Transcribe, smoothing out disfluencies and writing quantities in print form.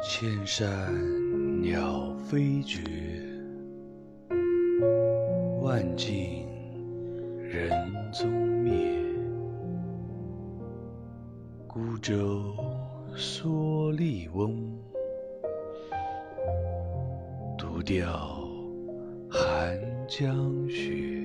千山鸟飞绝，万径人踪灭。孤舟蓑笠翁，独钓寒江雪。